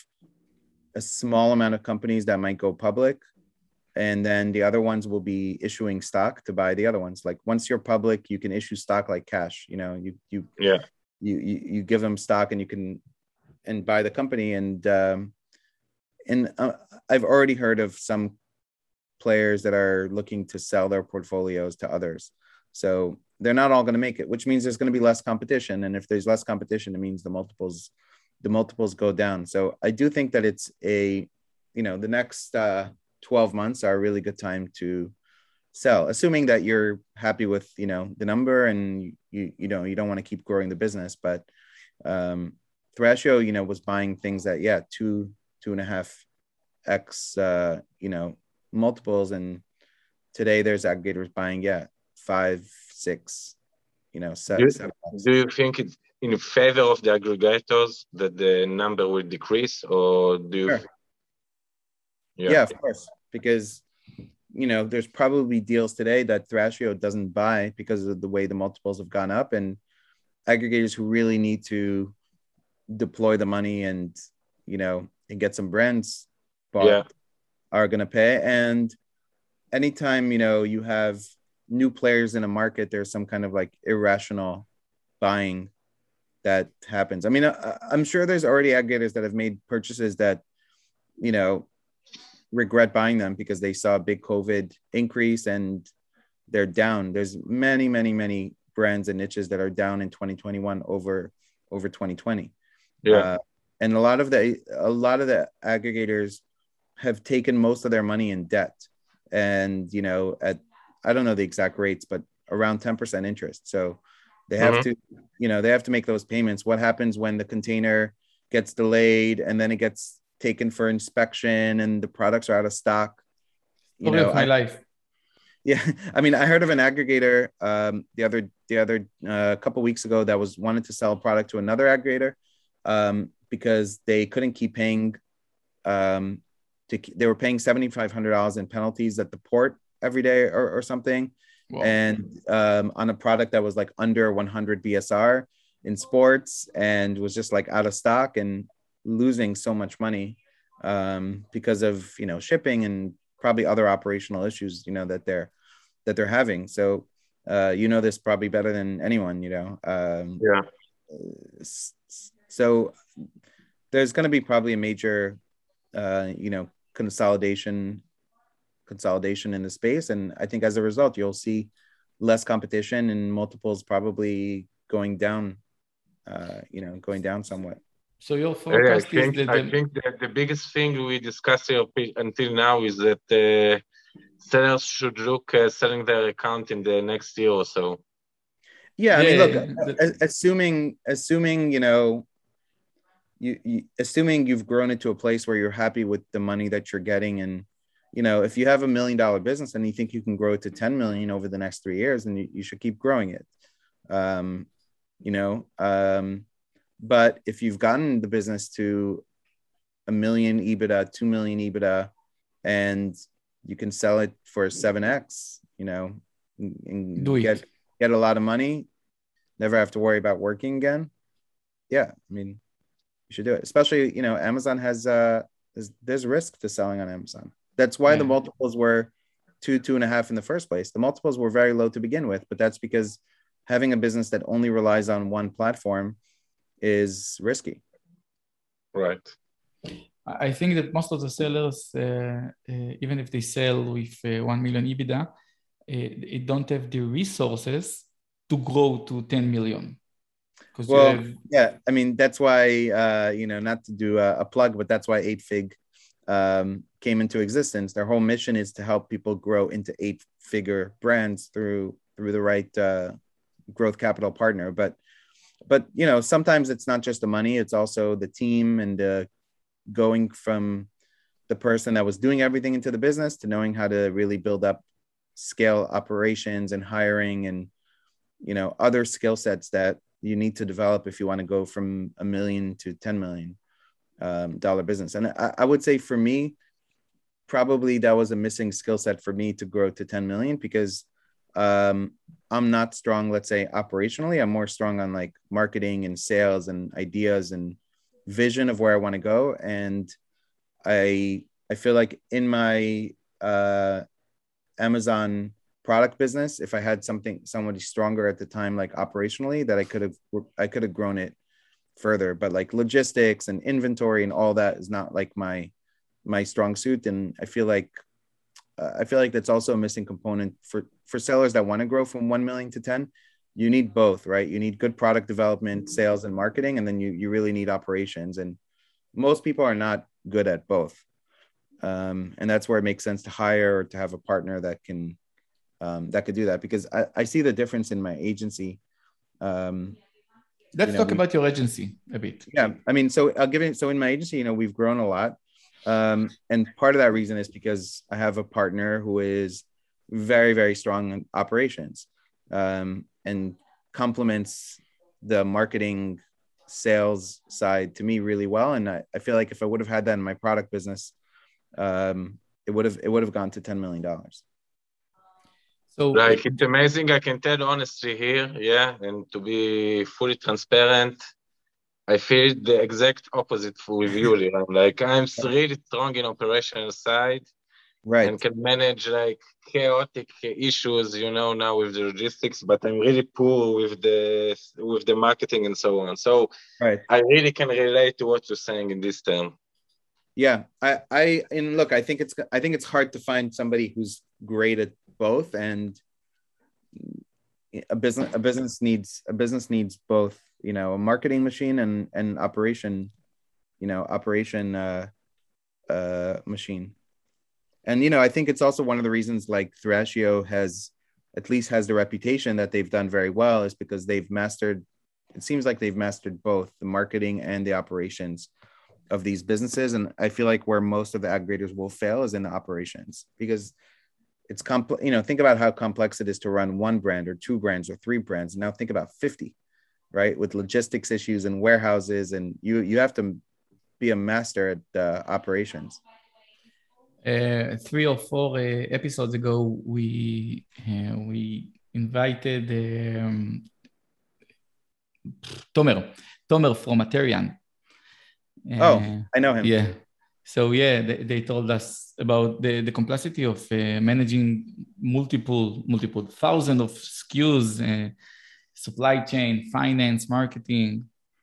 a small amount of companies that might go public, and then the other ones will be issuing stock to buy the other ones. Like once you're public, you can issue stock like cash. You know, you you yeah you you, you give them stock and you can and buy the company. And um, and uh, I've already heard of some players that are looking to sell their portfolios to others. So they're not all going to make it, which means there's going to be less competition. And if there's less competition, it means the multiples, the multiples go down. So I do think that it's a, you know, the next uh, twelve months are a really good time to sell, assuming that you're happy with, you know, the number and you, you know, you don't want to keep growing the business. But um, Thrashio, you know, was buying things that, yeah, two, two and a half X, uh, you know, multiples. And today there's aggregators buying, yeah, five, six, you know, seven. Do, seven do you think it's in favor of the aggregators that the number will decrease, or do you? Sure. Yeah. yeah, of course, because, you know, there's probably deals today that Thrashio doesn't buy because of the way the multiples have gone up, and aggregators who really need to deploy the money and, you know, and get some brands bought Yeah. are going to pay. And anytime, you know, you have new players in a market, there's some kind of like irrational buying that happens. I mean, I, I'm sure there's already aggregators that have made purchases that, you know, regret buying them because they saw a big COVID increase and they're down. There's many, many, many brands and niches that are down in twenty twenty-one over over twenty twenty. Yeah. Uh, and a lot of the a lot of the aggregators have taken most of their money in debt, and you know, at I don't know the exact rates, but around ten percent interest. So they have Mhm. to, you know, they have to make those payments. What happens when the container gets delayed and then it gets taken for inspection and the products are out of stock? You Story know, of my I, life. yeah, I mean, I heard of an aggregator um, the other the other uh, couple weeks ago that was wanted to sell a product to another aggregator um, because they couldn't keep paying. Um, to they were paying seventy five hundred dollars in penalties at the port every day or, or something, Wow. and um, on a product that was like under one hundred B S R in sports and was just like out of stock and losing so much money um, because of you know shipping and probably other operational issues you know that they're that they're having. So uh, you know this probably better than anyone. You know. Um, Yeah. s- s- so there's going to be probably a major, uh, you know, consolidation consolidation in the space, and I think as a result, you'll see less competition and multiples probably going down. Uh, you know, going down somewhat. So your Yeah, I forecast is think that I the, think that the biggest thing we discussed here pi- until now is that uh, sellers should look uh, selling their account in the next year or so. Yeah, I mean, yeah, look, the- a- assuming assuming you know, you, you assuming you've grown into a place where you're happy with the money that you're getting, and you know, if you have a million dollar business and you think you can grow it to ten million over the next three years, then you, you should keep growing it. Um, you know, um, but if you've gotten the business to a million EBITDA, two million EBITDA, and you can sell it for seven X, you know, and Do it. get get a lot of money, never have to worry about working again. Yeah, I mean, you should do it. Especially, you know, Amazon has uh there's, there's risk to selling on Amazon. That's why the Yeah. multiples were two, two and a half in the first place. The multiples were very low to begin with, but that's because having a business that only relies on one platform is risky. Right. I I think that most of the sellers, uh, uh, even if they sell with uh, one million EBITDA, uh, they don't have the resources to grow to ten million. Because you Well, have, yeah, I mean, that's why, uh, you know, not to do a, a plug, but that's why eight fig um, came into existence. Their whole mission is to help people grow into eight figure brands through through the right uh, growth capital partner. But, but, you know, sometimes it's not just the money, it's also the team and uh, going from the person that was doing everything into the business to knowing how to really build up scale operations and hiring and, you know, other skill sets that you need to develop if you want to go from a million to ten million um, dollar business. And I, I would say for me, probably that was a missing skill set for me to grow to ten million because um, I'm not strong, let's say operationally. I'm more strong on like marketing and sales and ideas and vision of where I want to go. And I, I feel like in my uh, Amazon product business, if I had something, somebody stronger at the time, like operationally, that I could have, I could have grown it further. But like logistics and inventory and all that is not like my, my strong suit. And I feel like, uh, I feel like that's also a missing component for, for sellers that want to grow from one million to ten. You need both, right? You need good product development, sales, and marketing, and then you you really need operations. And most people are not good at both. Um, and that's where it makes sense to hire or to have a partner that can um, that could do that. Because I, I see the difference in my agency. Um, let's you know, talk we- about your agency a bit. yeah, I mean, so I'll give it. So in my agency, you know, we've grown a lot, um, and part of that reason is because I have a partner who is very, very strong in operations, um, and complements the marketing sales side to me really well. And I, I feel like if I would have had that in my product business, um, it would have it would have gone to ten million dollars. So Like, it's amazing. I can tell honestly here, yeah, and to be fully transparent, I feel the exact opposite with you, Liran. Like I'm really strong in operational side Right. and can manage like chaotic issues, you know, now with the logistics, but I'm really poor with the with the marketing and so on. So Right. I really can relate to what you're saying in this term. Yeah, I, I, and look, I think it's, I think it's hard to find somebody who's great at both, and a business, a business needs, a business needs both, you know, a marketing machine and and operation, you know, operation uh, uh, machine. And, you know, I think it's also one of the reasons like Thrasio has, at least has the reputation that they've done very well, is because they've mastered, it seems like they've mastered both the marketing and the operations of these businesses. And I feel like where most of the aggregators will fail is in the operations, because it's complex. You know, think about how complex it is to run one brand or two brands or three brands. Now think about fifty, right? With logistics issues and warehouses, and you you have to be a master at uh, operations. Uh, three or four uh, episodes ago, we uh, we invited um, Tomer, Tomer from Aterian. Uh, oh, I know him. Yeah. So yeah, they, they told us about the, the complexity of uh, managing multiple, multiple thousands of S K Us, uh, supply chain, finance, marketing.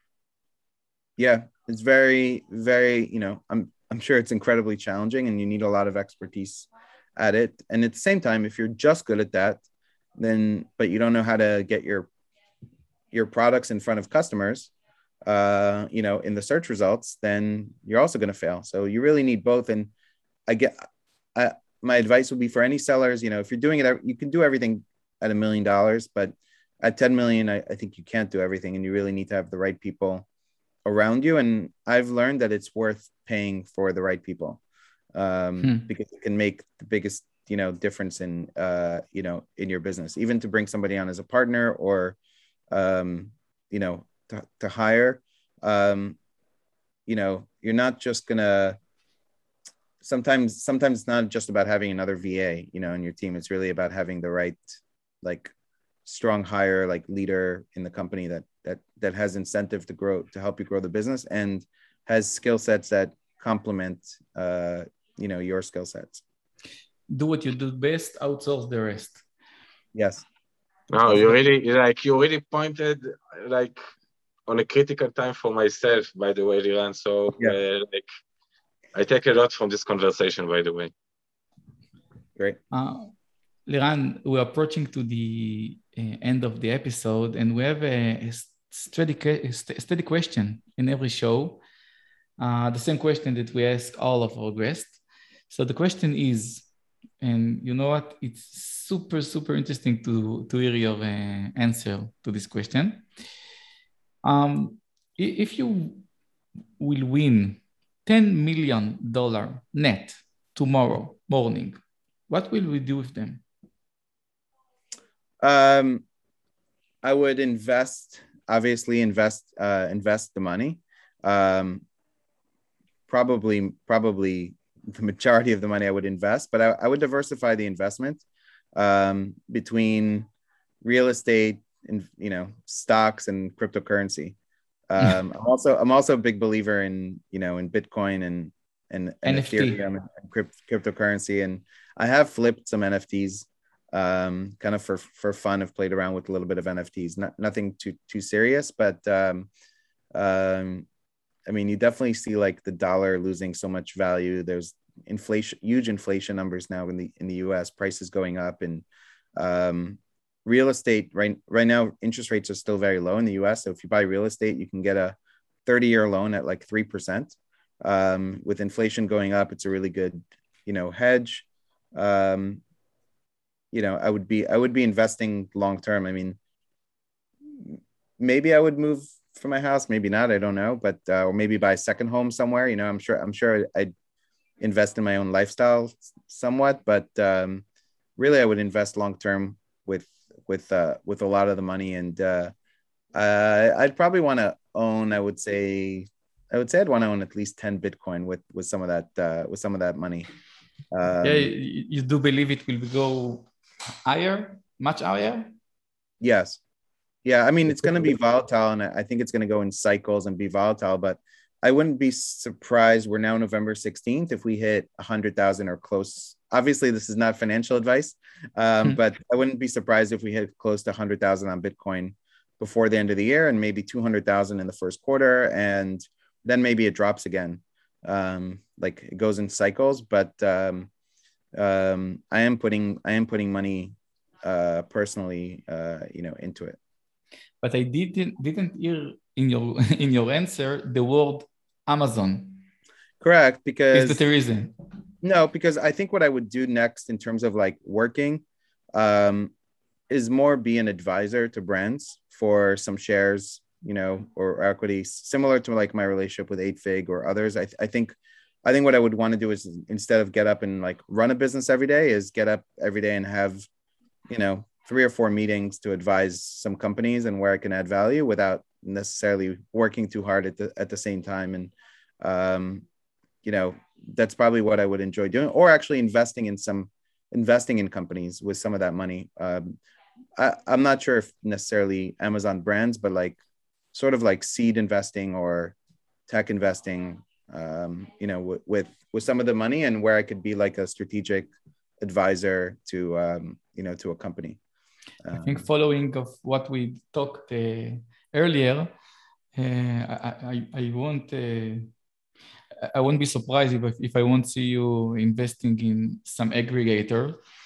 Yeah, it's very, very, you know, I'm I'm sure it's incredibly challenging, and you need a lot of expertise at it. And at the same time, if you're just good at that, then, but you don't know how to get your your products in front of customers, uh, you know, in the search results, then you're also going to fail. So you really need both. And I get, I, my advice would be for any sellers, you know, if you're doing it, you can do everything at a million dollars, but at ten million, I, I think you can't do everything, and you really need to have the right people around you. And I've learned that it's worth paying for the right people, um, hmm. because it can make the biggest, you know, difference in, uh, you know, in your business, even to bring somebody on as a partner, or, um, you know, to, to hire, um, you know, you're not just gonna, sometimes, sometimes it's not just about having another V A, you know, in your team. It's really about having the right, like, strong hire, like leader in the company that, that, that has incentive to grow, to help you grow the business, and has skill sets that complement, uh, you know, your skill sets. Do what you do best, outsource the rest. Yes. No, you really, like, you really pointed, like, on a critical time for myself, by the way, Liran. So, yeah. uh, like, I take a lot from this conversation, by the way. Great. Uh, Liran, we're approaching to the uh, end of the episode, and we have a, a, steady, a steady question in every show. Uh, the same question that we ask all of our guests. So the question is, and you know what? It's super, super interesting to, to hear your uh, answer to this question. Um, if you will win ten million dollars net tomorrow morning, what will we do with them? Um, I would invest, obviously invest, uh, invest the money. Um, probably, probably the majority of the money I would invest, but I, I would diversify the investment, um, between real estate and, you know, stocks and cryptocurrency. Um, I'm also, I'm also a big believer in, you know, in Bitcoin and, and, and Ethereum and crypt, cryptocurrency. And I have flipped some N F Ts, um, kind of for, for fun. I've played around with a little bit of N F Ts, not, nothing too, too serious, but, um, um, I mean, you definitely see like the dollar losing so much value. There's inflation, huge inflation numbers now in the, in the U S, prices going up, and, um, real estate right, right now, interest rates are still very low in the U S. So if you buy real estate, you can get a thirty year loan at like three percent. Um, with inflation going up, it's a really good, you know, hedge. Um, you know, I would be, I would be investing long-term. I mean, maybe I would move from my house, maybe not, I don't know, but, uh, or maybe buy a second home somewhere, you know, I'm sure, I'm sure I'd invest in my own lifestyle somewhat, but, um, really I would invest long-term with, with, uh, with a lot of the money. And, uh, uh I'd probably want to own, I would say, I would say I'd want to own at least ten Bitcoin with, with some of that, uh, with some of that money. Um, yeah, you do believe it will go higher, much higher? Yes. Yeah, I mean, it's going to be volatile, and I think it's going to go in cycles and be volatile, but I wouldn't be surprised. We're now November sixteenth. If we hit one hundred thousand or close, obviously this is not financial advice, um, but I wouldn't be surprised if we hit close to one hundred thousand on Bitcoin before the end of the year, and maybe two hundred thousand in the first quarter. And then maybe it drops again. Um, like it goes in cycles, but um, um, I am putting, I am putting money uh, personally, uh, you know, into it. But I didn't didn't hear in your in your answer the word Amazon. Correct, because is that the reason? No, because I think what I would do next in terms of like working um, is more be an advisor to brands for some shares, you know, or equity, similar to like my relationship with eight fig or others. I, th- I think I think what I would want to do is instead of get up and like run a business every day, is get up every day and have, you know, three or four meetings to advise some companies and where I can add value without necessarily working too hard at the at the same time. And um, you know, that's probably what I would enjoy doing, or actually investing in some investing in companies with some of that money. Um, I, I'm not sure if necessarily Amazon brands, but like sort of like seed investing or tech investing, um, you know, w- with with some of the money, and where I could be like a strategic advisor to um, you know, to a company. I think following of what we talked uh, earlier, uh, I, I, I won't uh, I won't be surprised if, if I won't see you investing in some aggregator.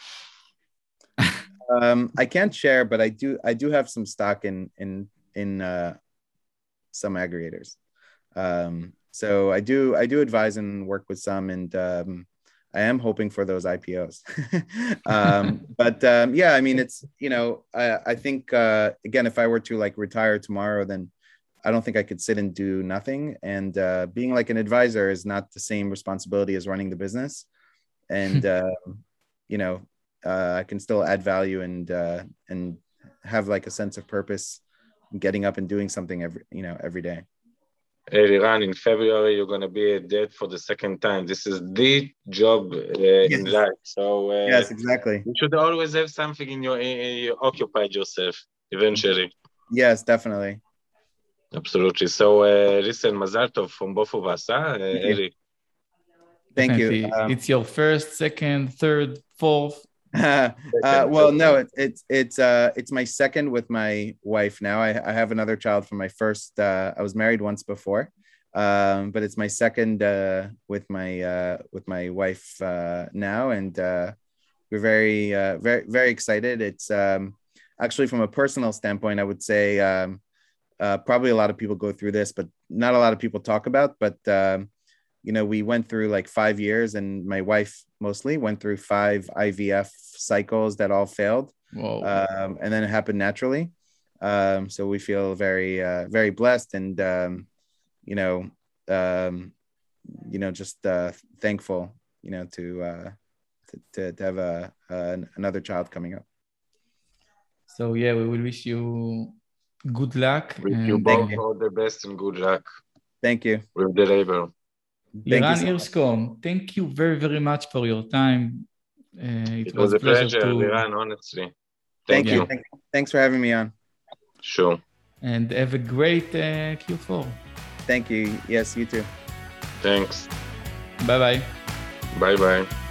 um, I can't share, but I do I do have some stock in in in uh, some aggregators. Um, so I do I do advise and work with some, and um, I am hoping for those I P Os. um, but um, yeah, I mean, it's, you know, I, I think, uh, again, if I were to like retire tomorrow, then I don't think I could sit and do nothing. And uh, being like an advisor is not the same responsibility as running the business. And, uh, you know, uh, I can still add value and, uh, and have like a sense of purpose, getting up and doing something every, you know, every day. Hey, Liran, in February, you're going to be a dad for the second time. This is the job uh, yes. in life. So uh, yes, exactly. You should always have something in your, in, you occupied yourself eventually. Yes, definitely. Absolutely. So uh, listen, Mazal Tov from both of us, huh? Uh, Eli. Thank you. Um, it's your first, second, third, fourth. uh, well, no, it, it's it's uh it's my second with my wife now. I, I have another child from my first. Uh, I was married once before, um, but it's my second uh, with my uh, with my wife uh, now, and uh, we're very uh, very very excited. It's um, actually from a personal standpoint, I would say um, uh, probably a lot of people go through this, but not a lot of people talk about. But um, you know, we went through like five years, and my wife mostly went through five I V F cycles that all failed. Um, and then it happened naturally. Um, so we feel very, uh, very blessed, and, um, you know, um, you know, just uh, thankful, you know, to, uh, to, to, to have a, uh, another child coming up. So yeah, we will wish you good luck. Wish you both all the best and good luck. Thank you. With the labor. Liran Hirschkom, thank you very, very much for your time. Uh, it, it was, was a pleasure, pleasure to... Liran, honestly. Thank, thank you. you. Thank, thanks for having me on. Sure. And have a great uh, Q four. Thank you. Yes, you too. Thanks. Bye-bye. Bye-bye.